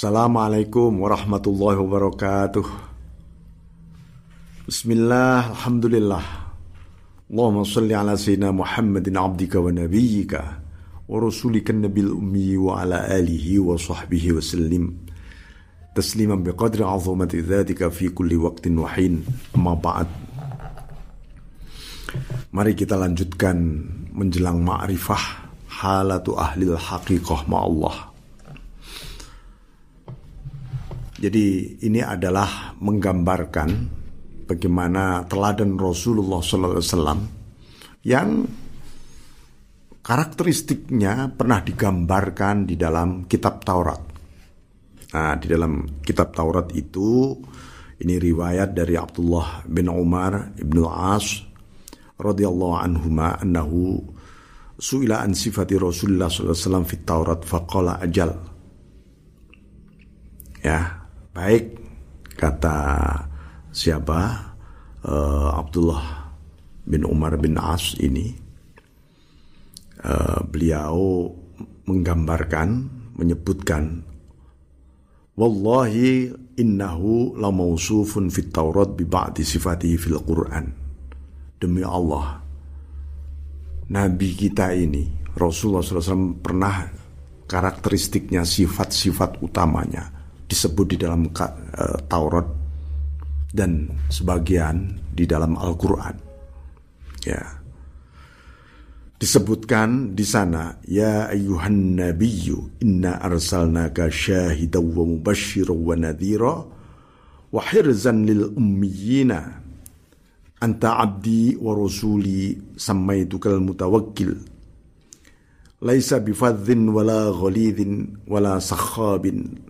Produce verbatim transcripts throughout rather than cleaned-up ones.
Assalamualaikum warahmatullahi wabarakatuh. Bismillah, alhamdulillah. Allahumma salli ala sayyidina Muhammadin abdika wa nabiyyika wa rasulika nabil ummi wa ala alihi wa sahbihi wa sallim tasliman biqadri azamati dhatika fi kulli waqtin wa hin. Amma ba'd. Mari kita lanjutkan menjelang ma'rifah halatu ahlil haqiqah ma'allah. Jadi ini adalah menggambarkan bagaimana teladan Rasulullah shallallahu alaihi wasallam yang karakteristiknya pernah digambarkan di dalam kitab Taurat. Nah, di dalam kitab Taurat itu, ini riwayat dari Abdullah bin Umar ibn al-As radhiyallahu anhuma annahu su'ila an sifati Rasulullah shallallahu alaihi wasallam fit Taurat faqala ajal. Ya, baik, kata siapa uh, Abdullah bin Umar bin As ini, uh, beliau menggambarkan, menyebutkan, wallahi innahu la mausufun fit Taurat bi ba'di sifatihi fil Quran. Demi Allah, Nabi kita ini Rasulullah shallallahu alaihi wasallam pernah karakteristiknya, sifat-sifat utamanya disebut di dalam uh, Taurat dan sebagian di dalam Al-Quran. Ya, disebutkan di sana, ya ayyuhan nabiyyu inna arsalnaka syahidan wa mubasysyiran wa nadhira wa hirzan lil ummiyina anta abdi wa rasuli samaitukal mutawakkil laisa bifadhin wala ghalidhin wala sakhabin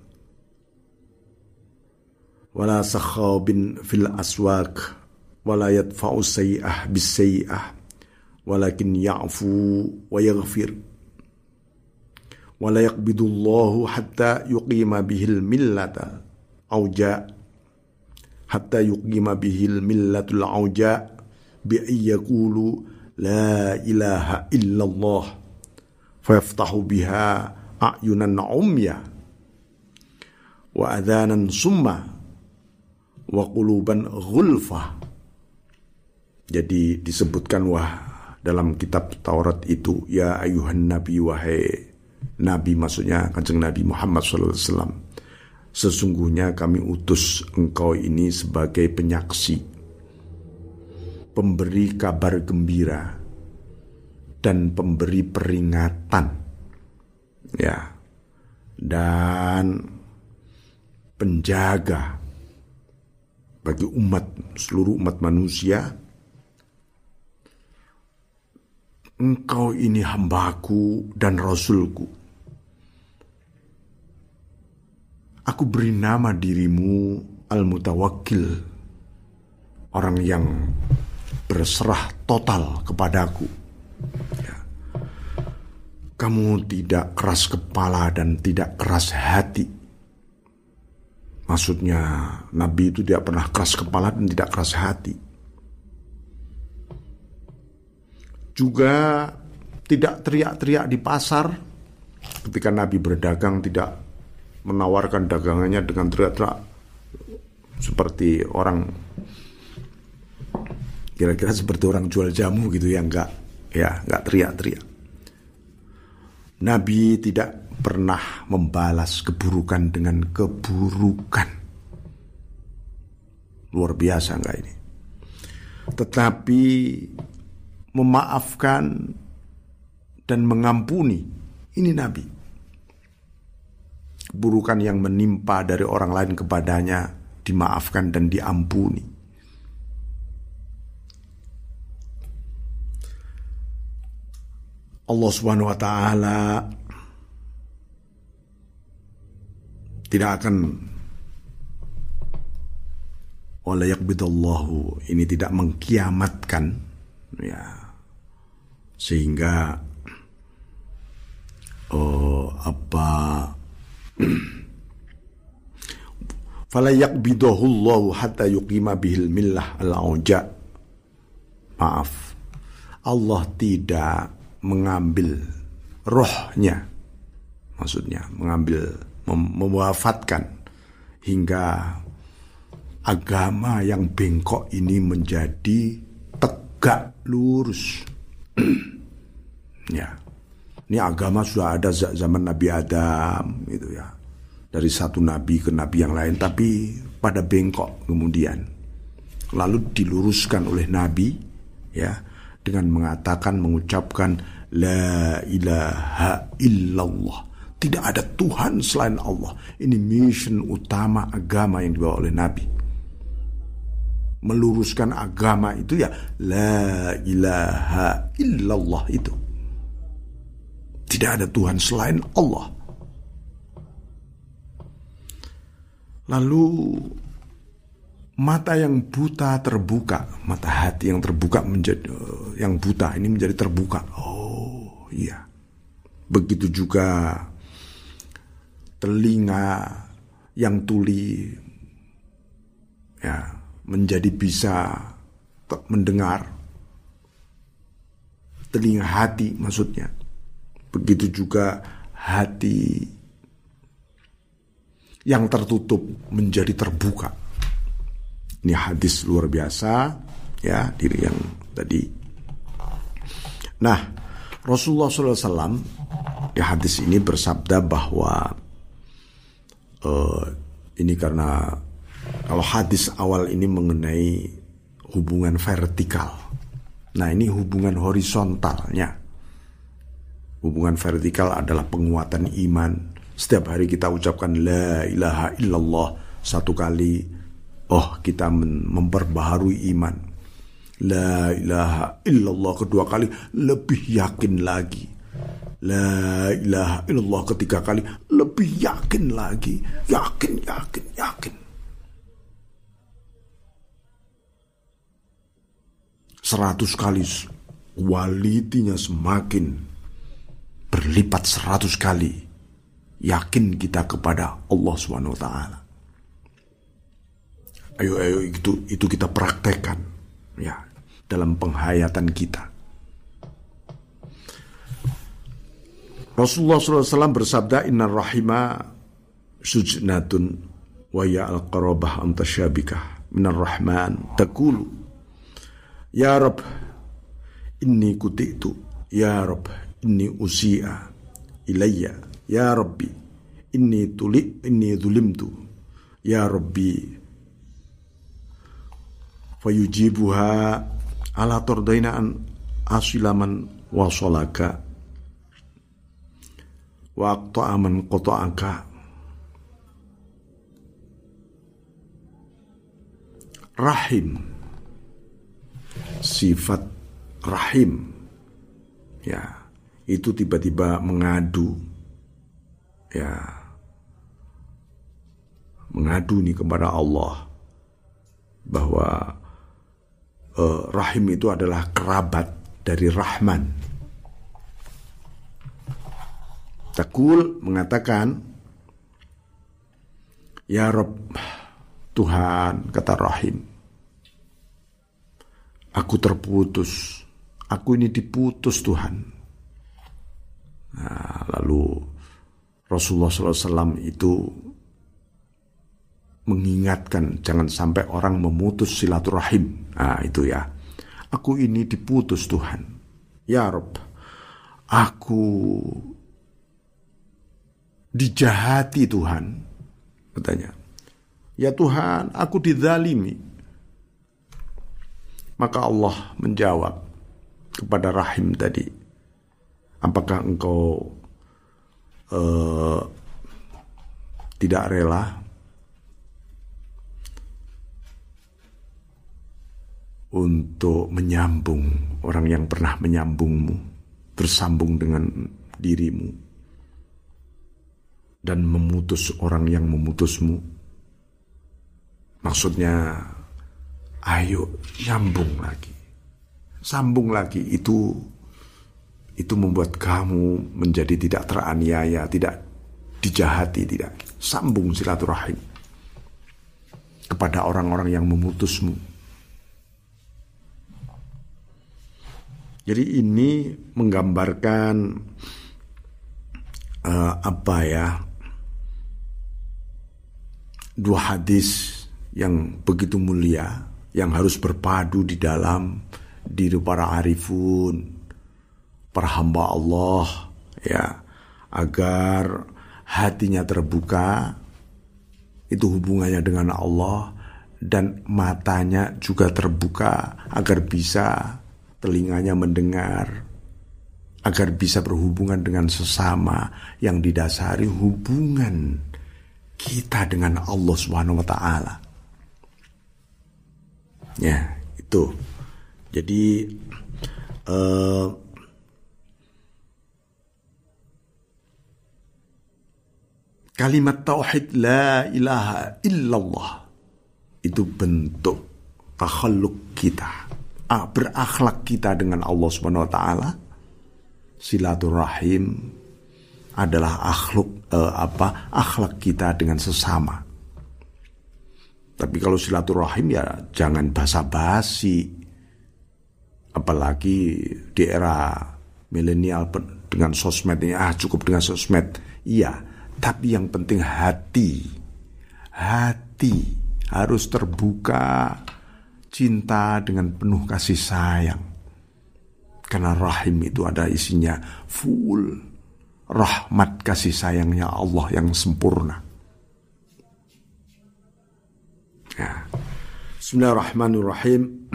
wala sakhabin fil aswaq wala yadfa'u sayyi'ah bis sayyi'ah walakin ya'fu wa yaghfir wala yaqbidullahu hatta yuqima bihil millata auja hatta yuqima bihil millatul auja bi ayyaqulu la ilaha illallah fayaftahu biha a'yunan umya wa adhanan summa wa quluban ghulfah. Jadi disebutkan wah dalam kitab Taurat itu, ya ayuhan nabi, wahai nabi, maksudnya kanjeng Nabi Muhammad shallallahu alaihi wasallam, sesungguhnya kami utus engkau ini sebagai penyaksi, pemberi kabar gembira dan pemberi peringatan, ya, dan penjaga bagi umat, seluruh umat manusia. Engkau ini hambaku dan rasulku. Aku beri nama dirimu Al-Mutawakkil, orang yang berserah total kepadaku. Ya. Kamu tidak keras kepala dan tidak keras hati. Maksudnya Nabi itu tidak pernah keras kepala dan tidak keras hati. Juga tidak teriak-teriak di pasar. Ketika Nabi berdagang, tidak menawarkan dagangannya dengan teriak-teriak seperti orang, kira-kira seperti orang jual jamu gitu ya, enggak, ya, enggak teriak-teriak. Nabi tidak pernah membalas keburukan dengan keburukan. Luar biasa enggak ini? Tetapi memaafkan dan mengampuni, ini Nabi. Keburukan yang menimpa dari orang lain kepadanya dimaafkan dan diampuni. Allah Subhanahu wa taala tidak akan, wala yaqbidallahu, ini tidak mengkiamatkan, ya, sehingga oh apa fala yaqbidahullahu hatta yuqima bihil millah al-auja. Maaf, Allah tidak mengambil rohnya, maksudnya mengambil mem- mewafatkan hingga agama yang bengkok ini menjadi tegak lurus. Ya, ini agama sudah ada zaman Nabi Adam, gitu ya, dari satu nabi ke nabi yang lain, tapi pada bengkok kemudian, lalu diluruskan oleh Nabi, ya, dengan mengatakan, mengucapkan la ilaha illallah, tidak ada Tuhan selain Allah. Ini mission utama agama yang dibawa oleh Nabi. Meluruskan agama itu ya la ilaha illallah itu. Tidak ada Tuhan selain Allah. Lalu mata yang buta terbuka, mata hati yang terbuka menjadi yang buta ini menjadi terbuka. Oh iya. Begitu juga telinga yang tuli ya menjadi bisa mendengar. Telinga hati maksudnya. Begitu juga hati yang tertutup menjadi terbuka. Ini hadis luar biasa, ya, diri yang tadi. Nah, Rasulullah shallallahu alaihi wasallam di hadis ini bersabda bahwa uh, ini karena kalau hadis awal ini mengenai hubungan vertikal. Nah, ini hubungan horizontalnya. Hubungan vertikal adalah penguatan iman. Setiap hari kita ucapkan la ilaha illallah satu kali, oh kita memperbaharui iman. La ilaha illallah kedua kali, lebih yakin lagi. La ilaha illallah ketiga kali, lebih yakin lagi. Yakin, yakin, yakin. Seratus kali, kualitinya semakin berlipat seratus kali. Yakin kita kepada Allah subhanahu wa taala. Ayo, ayo itu itu kita praktekkan, ya, dalam penghayatan kita. Rasulullah shallallahu alaihi wasallam bersabda, Inna rahima sujnatun wa ya al-qarabah antasyabikah minar rahman taqulu ya Rabb inni kutitu, ya Rabb inni usi'a ilayya, ya Rabbi inni tuli inni zulimtu, ya Rabbi fayujibuha ala turdaina an asilaman wasolaka wa aqta'aman qata'aka. Rahim, sifat rahim, ya, itu tiba-tiba mengadu, ya, mengadu nih kepada Allah bahwa eh, rahim itu adalah kerabat dari Rahman. Taqul mengatakan, ya Rabb, Tuhan, kata Rahim, aku terputus, aku ini diputus Tuhan. Nah, lalu Rasulullah shallallahu alaihi wasallam itu mengingatkan jangan sampai orang memutus silaturahim. Nah itu ya, aku ini diputus Tuhan. Ya Rabb, aku dijahati Tuhan, katanya. Ya Tuhan, aku dizalimi. Maka Allah menjawab kepada Rahim tadi, apakah engkau uh, tidak rela untuk menyambung orang yang pernah menyambungmu, bersambung dengan dirimu, dan memutus orang yang memutusmu? Maksudnya, ayo nyambung lagi, sambung lagi. Itu itu membuat kamu menjadi tidak teraniaya, tidak dijahati, tidak. Sambung silaturahim kepada orang-orang yang memutusmu. Jadi ini menggambarkan uh, apa ya? dua hadis yang begitu mulia, yang harus berpadu di dalam diri para arifun, para hamba Allah, ya, agar hatinya terbuka, itu hubungannya dengan Allah, dan matanya juga terbuka agar bisa, telinganya mendengar, agar bisa berhubungan dengan sesama yang didasari hubungan kita dengan Allah Subhanahu wa taala. Ya, itu. Jadi uh, kalimat tauhid la ilaha illallah itu bentuk takhalluq kita, ah, berakhlak kita dengan Allah Subhanahu wa taala. Silaturahim adalah akhlak uh, apa akhlak kita dengan sesama. Tapi kalau silaturahim ya jangan basa-basi. Apalagi di era milenial dengan sosmed ini, ah cukup dengan sosmed. Iya, tapi yang penting hati. Hati harus terbuka, cinta dengan penuh kasih sayang. Karena rahim itu ada isinya full rahmat kasih sayangnya Allah yang sempurna. Ya. Bismillahirrahmanirrahim.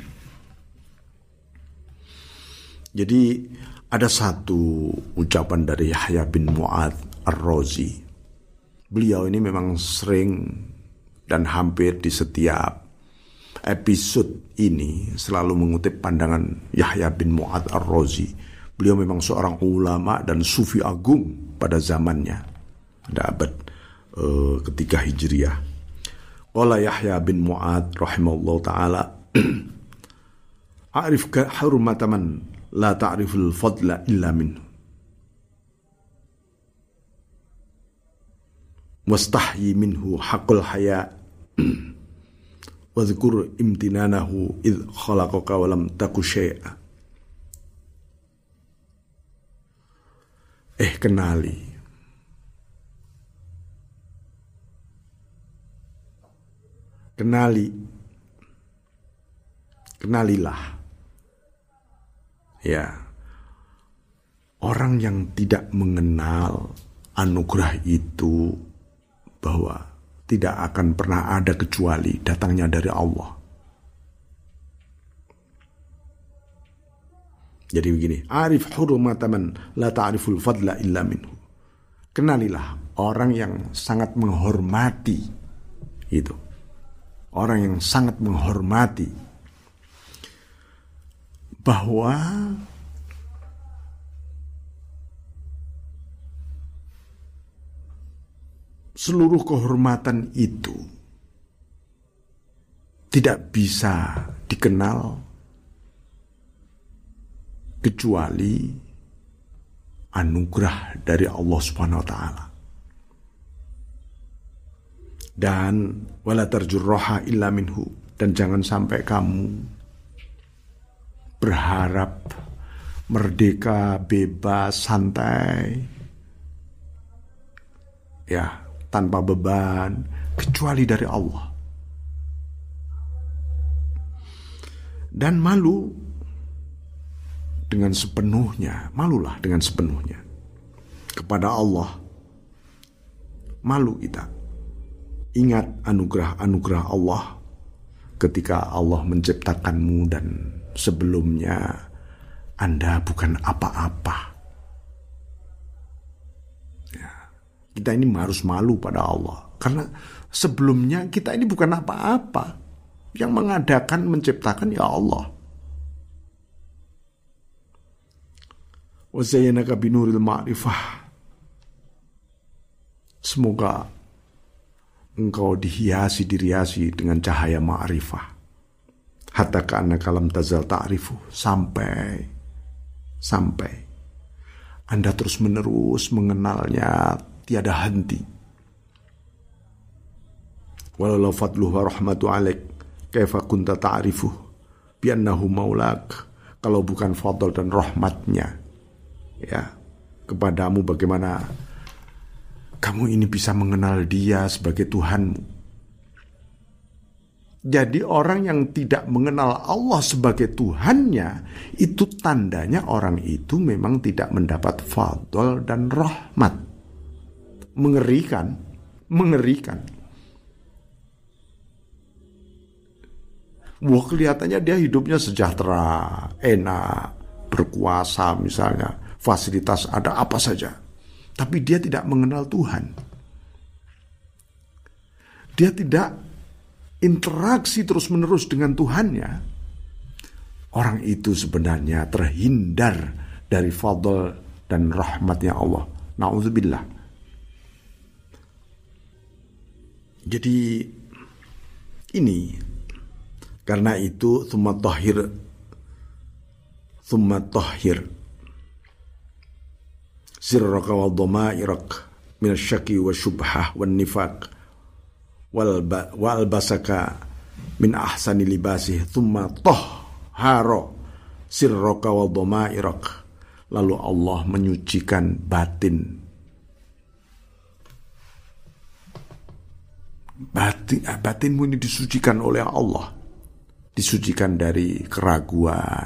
Jadi ada satu ucapan dari Yahya bin Mu'adz Ar-Razi. Beliau ini memang sering dan hampir di setiap episode ini selalu mengutip pandangan Yahya bin Mu'adz Ar-Razi. Beliau memang seorang ulama dan sufi agung pada zamannya, pada abad uh, ketiga Hijriah. Qala Yahya bin Mu'adz rahimahullah ta'ala, a'rif hurmata man la ta'riful fadla illa minhu, wastahyi minhu haqqul haya, wadhkur imtinanahu idh khalaqaka wa lam taku syai'a. Eh kenali Kenali, kenalilah, ya, orang yang tidak mengenal anugerah itu, bahwa tidak akan pernah ada kecuali datangnya dari Allah. Jadi begini, arif hurmata man la ta'riful fadla illa minhu. Kenalilah orang yang sangat menghormati itu. Orang yang sangat menghormati bahwa seluruh kehormatan itu tidak bisa dikenal kecuali anugerah dari Allah Subhanahu wa taala. Dan wala tarjurroha illa minhu, dan jangan sampai kamu berharap merdeka, bebas, santai, ya, tanpa beban, kecuali dari Allah. Dan malu dengan sepenuhnya, malulah dengan sepenuhnya kepada Allah. Malu kita. Ingat anugerah-anugerah Allah ketika Allah menciptakanmu dan sebelumnya Anda bukan apa-apa. Ya, kita ini harus malu pada Allah karena sebelumnya kita ini bukan apa-apa. Yang mengadakan, menciptakan ya Allah. Wa zayyanaka binuril ma'rifah. Semoga engkau dihiasi, diriasi dengan cahaya ma'rifah. Hatta ka'annaka lam tazal ta'rifu. Sampai, sampai Anda terus menerus mengenalnya tiada henti. Walau fadluhu wa rahmatu alaik, kaifa kunta ta'rifu biannahu maulak. Kalau bukan fadl dan rahmatnya, ya, kepadamu, bagaimana kamu ini bisa mengenal dia sebagai Tuhanmu? Jadi orang yang tidak mengenal Allah sebagai Tuhannya, itu tandanya orang itu memang tidak mendapat fadl dan rahmat. Mengerikan, mengerikan. Wah, kelihatannya dia hidupnya sejahtera, enak, berkuasa misalnya, fasilitas ada apa saja. Tapi dia tidak mengenal Tuhan. Dia tidak interaksi terus-menerus dengan Tuhannya. Orang itu sebenarnya terhindar dari fadl dan rahmatnya Allah. Na'udzubillah. Jadi ini, karena itu thumma tahhir thumma tahhir sirraka wa dhamairak min asy-syaki wa syubhah wan nifaq wal wal basaka min ahsani libasih thumma tahhara sirraka wa dhamairak. Lalu Allah menyucikan batin batin batinmu ini disucikan oleh Allah, disucikan dari keraguan,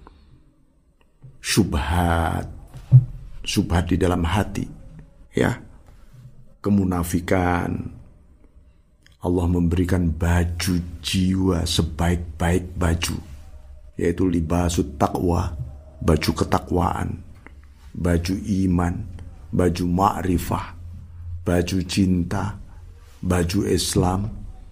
syubhat, syubhat di dalam hati, ya, kemunafikan. Allah memberikan baju jiwa sebaik-baik baju, yaitu libasut taqwa, baju ketakwaan, baju iman, baju ma'rifah, baju cinta, baju Islam.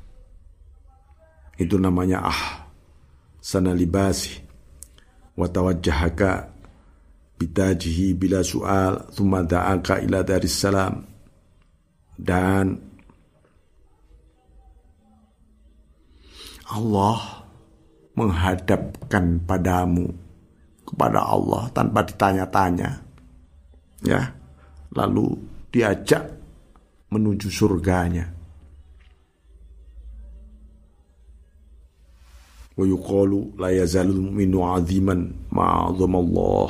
Itu namanya ah sana libasi wa tawajjahaka bitajihi bila su'al thumma da'aka ila daris salam. Dan Allah menghadapkan padamu kepada Allah tanpa ditanya-tanya, ya, lalu diajak menuju surganya. Wa yuqalu la yazalul mu'minu 'aziman ma'azama Allah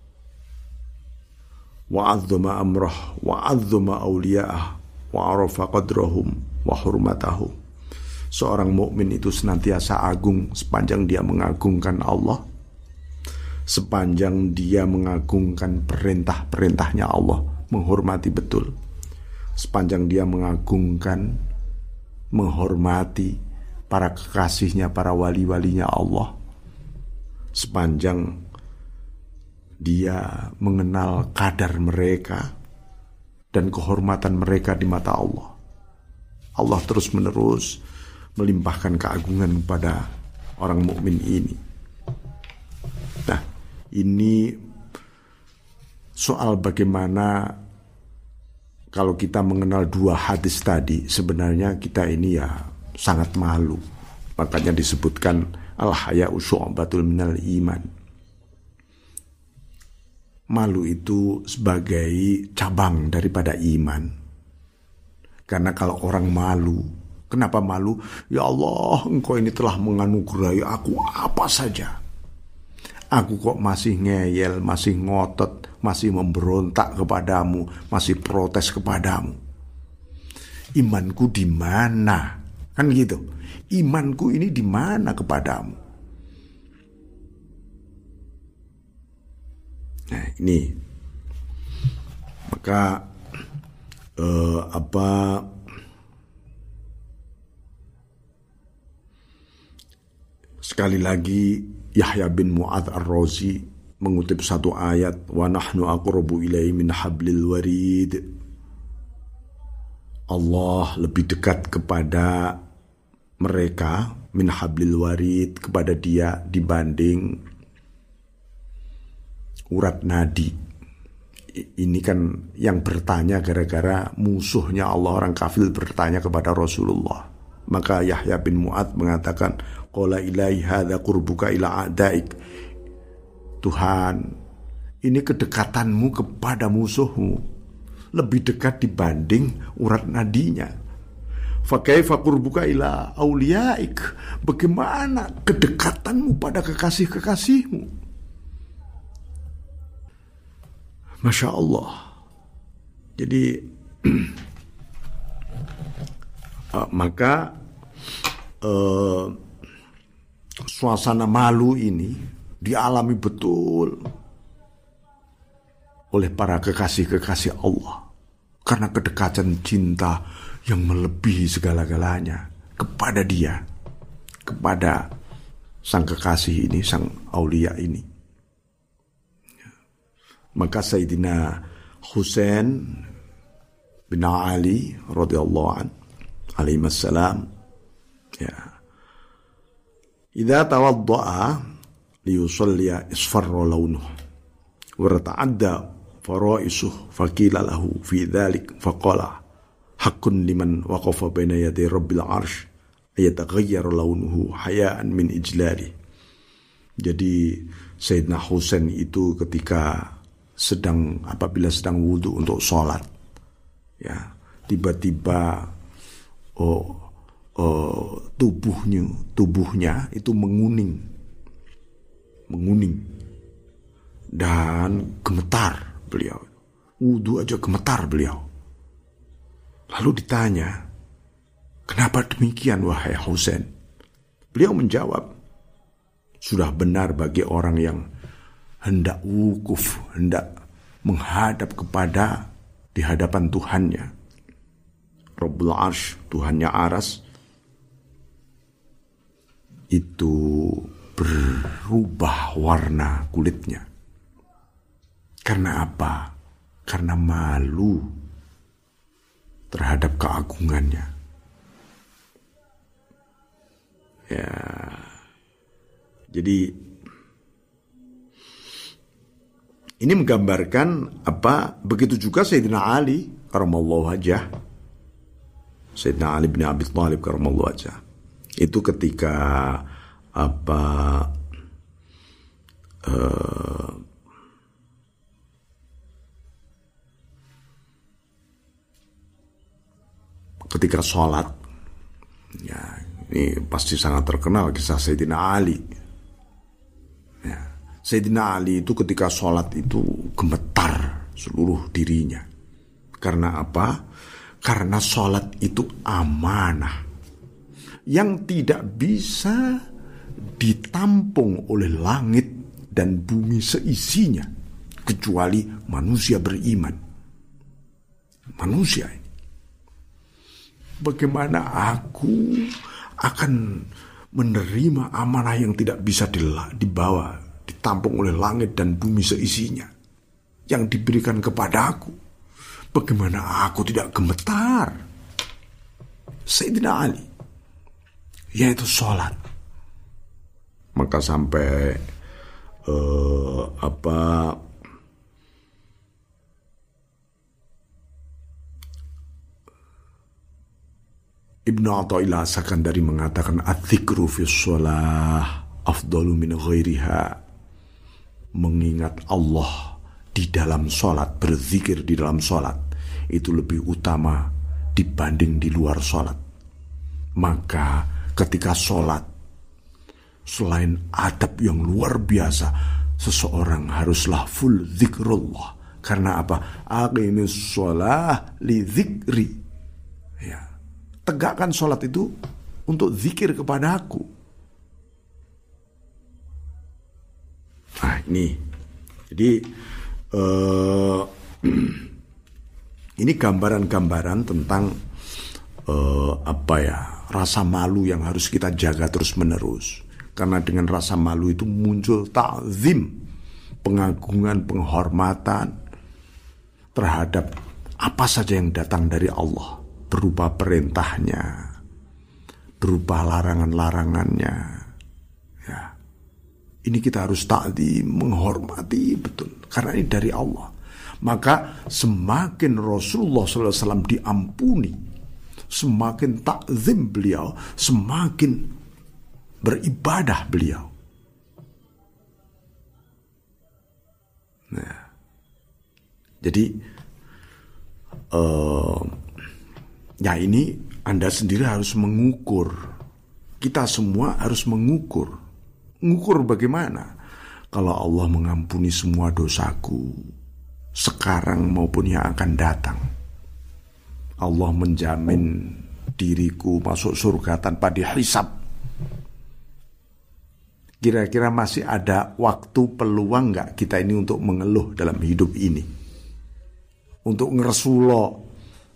wa 'azzama amrah wa 'azzama awliya'ah wa 'arafa qadrahum wa hurmatahum. Seorang mukmin itu senantiasa agung sepanjang dia mengagungkan Allah, sepanjang dia mengagungkan perintah-perintahnya Allah, menghormati betul, sepanjang dia mengagungkan, menghormati para kekasihnya, para wali-walinya Allah, sepanjang dia mengenal kadar mereka dan kehormatan mereka di mata Allah. Allah terus menerus melimpahkan keagungan kepada orang mukmin ini. Nah, ini soal bagaimana kalau kita mengenal dua hadis tadi, sebenarnya kita ini ya sangat malu. Makanya disebutkan al-haya'u syu'batul minal iman. Malu itu sebagai cabang daripada iman. Karena kalau orang malu, kenapa malu? Ya Allah, Engkau ini telah menganugerahi aku apa saja. Aku kok masih ngeyel, masih ngotot, masih memberontak kepadamu, masih protes kepadamu. Imanku di mana? Kan gitu. Imanku ini di mana kepadamu? Nah, ini. Maka eh, apa sekali lagi Yahya bin Mu'adz Ar-Razi mengutip satu ayat, wa nahnu aqrabu ilaihi min hablil warid. Allah lebih dekat kepada mereka min hablil warid, kepada dia dibanding urat nadi. Ini kan yang bertanya gara-gara musuhnya Allah, orang kafir bertanya kepada Rasulullah. Maka Yahya bin Mu'adz mengatakan, qala ilahi hadza qurbuka ila a'daik. Tuhan, ini kedekatanmu kepada musuhmu lebih dekat dibanding urat nadinya. Fa kaifa qurbuka ila auliyaik? Bagaimana kedekatanmu pada kekasih-kekasihmu? Masya Allah. Jadi uh, maka eh, suasana malu ini dialami betul oleh para kekasih-kekasih Allah karena kedekatan cinta yang melebihi segala-galanya kepada Dia, kepada sang kekasih ini, sang aulia ini. Maka Sayyidina Husain bin Ali radhiyallahu an alaihi wassalam, ya, idza tawaddaa liyusalliya isfarra launuhu wa ta'adda faraisuhu faqila lahu fi dzalik faqala haqqun liman waqafa baina yaday rabbil arsh ayataghayyar launuhu hayaan min ijlali. Jadi Sayyidina Husain itu ketika sedang apabila sedang wudu untuk sholat, ya, tiba-tiba oh, oh, tubuhnya tubuhnya itu menguning, menguning dan gemetar beliau. Wudu aja gemetar beliau. Lalu ditanya, kenapa demikian wahai Husain? Beliau menjawab, sudah benar bagi orang yang hendak wukuf, hendak menghadap kepada di hadapan Tuhannya, Rabbul Arsh, Tuhannya Aras, itu berubah warna kulitnya. Karena apa? Karena malu terhadap keagungannya. Ya, jadi ini menggambarkan apa? Begitu juga Sayyidina Ali karamallahu wajhah, Sayyidina Ali bin Abi Thalib karamallahu wajhah, itu ketika apa? Uh, ketika sholat, ya, ini pasti sangat terkenal kisah Sayyidina Ali. Ya, Sayyidina Ali itu ketika sholat itu gemetar seluruh dirinya. Karena apa? Karena sholat itu amanah yang tidak bisa ditampung oleh langit dan bumi seisinya kecuali manusia beriman. Manusia ini. Bagaimana aku akan menerima amanah yang tidak bisa dibawa, ditampung oleh langit dan bumi seisinya yang diberikan kepada aku? Bagaimana aku tidak gemetar? Sayyidina Ali, yaitu sholat. Maka sampai uh, apa Ibnu Athaillah Sakandari mengatakan adzikru fi shalah afdalu min ghairiha. Mengingat Allah di dalam sholat, berzikir di dalam sholat itu lebih utama dibanding di luar sholat. Maka ketika sholat, selain adab yang luar biasa, seseorang haruslah full zikrullah. Karena apa? Aqimis sholah li zikri. Ya, tegakkan sholat itu untuk zikir kepada aku. Nah ini, jadi uh, ini gambaran-gambaran tentang uh, apa ya, rasa malu yang harus kita jaga terus menerus. Karena dengan rasa malu itu muncul ta'zim, pengagungan, penghormatan terhadap apa saja yang datang dari Allah, berupa perintahnya, berupa larangan-larangannya. Ya, ini kita harus ta'zim, menghormati betul, karena ini dari Allah. Maka semakin Rasulullah shallallahu alaihi wasallam diampuni, semakin ta'zim beliau, semakin beribadah beliau. Nah, jadi uh, ya ini Anda sendiri harus mengukur. Kita semua harus mengukur. Mengukur bagaimana? Kalau Allah mengampuni semua dosaku sekarang maupun yang akan datang, Allah menjamin diriku masuk surga tanpa dihisab. Kira-kira masih ada waktu peluang nggak kita ini untuk mengeluh dalam hidup ini? Untuk ngeresulo.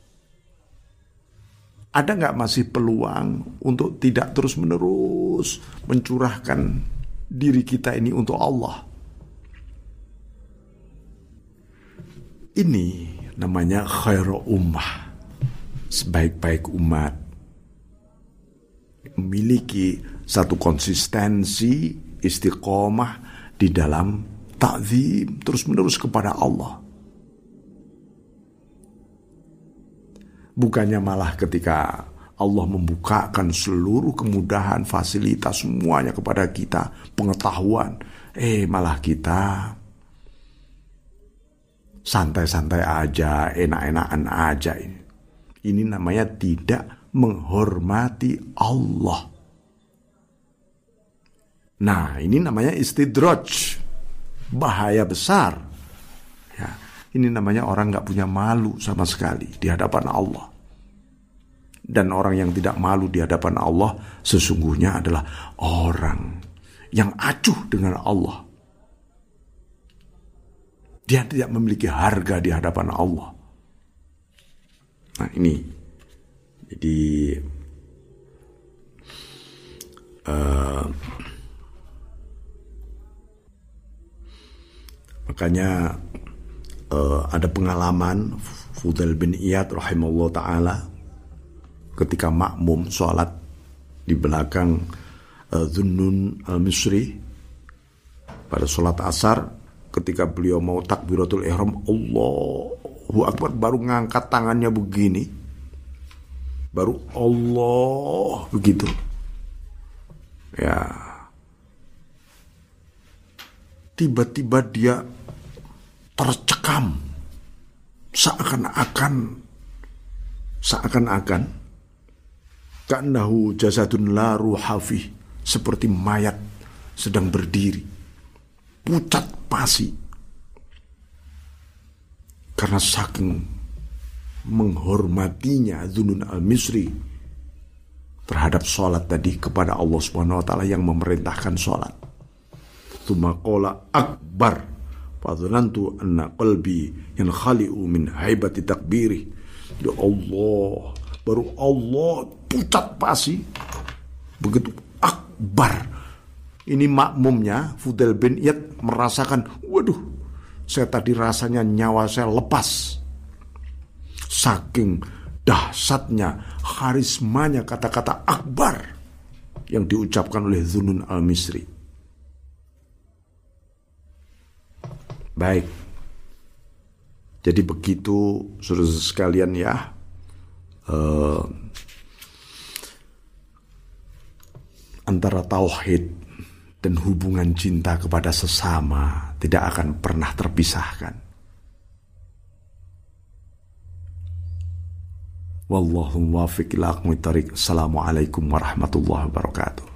Ada nggak masih peluang untuk tidak terus-menerus mencurahkan diri kita ini untuk Allah? Ini namanya khairu ummah, sebaik-baik umat. Memiliki satu konsistensi, istiqomah di dalam ta'zim terus-menerus kepada Allah. Bukannya malah ketika Allah membukakan seluruh kemudahan, fasilitas, semuanya kepada kita, pengetahuan, eh malah kita santai-santai aja, enak-enakan aja. Ini Ini namanya tidak menghormati Allah. Nah, ini namanya istidraj, bahaya besar. Ya, ini namanya orang gak punya malu sama sekali di hadapan Allah. Dan orang yang tidak malu di hadapan Allah sesungguhnya adalah orang yang acuh dengan Allah. Dia tidak memiliki harga di hadapan Allah. Nah ini, jadi uh, makanya uh, ada pengalaman Fudail bin Iyad rahimahullah ta'ala ketika makmum sholat di belakang uh, Dhunnun al-Misri pada sholat asar, ketika beliau mau takbiratul ihram, Allahu Akbar, baru ngangkat tangannya begini, baru Allah begitu, ya tiba-tiba dia tercekam, seakan-akan seakan-akan ka'annahu jasadun la ruha fih, seperti mayat sedang berdiri, pucat pasi, karena saking menghormatinya Dhunnun al-Misri terhadap sholat tadi kepada Allah Subhanahu wa ta'ala yang memerintahkan sholat. Tsumma qala akbar fadhanantu anna qalbi yankhali'u min haibati takbiri. Ya Allah, baru Allah pucat pasi, begitu akbar. Ini makmumnya Fudail bin Iyad merasakan, waduh, saya tadi rasanya nyawa saya lepas. Saking dahsyatnya, karismanya kata-kata akbar yang diucapkan oleh Dhunnun al-Misri. Baik. Jadi begitu saudara sekalian ya. Uh, antara tauhid dan hubungan cinta kepada sesama tidak akan pernah terpisahkan. Wallahu muwaffiq ila aqwamit thoriq. Assalamualaikum warahmatullahi wabarakatuh.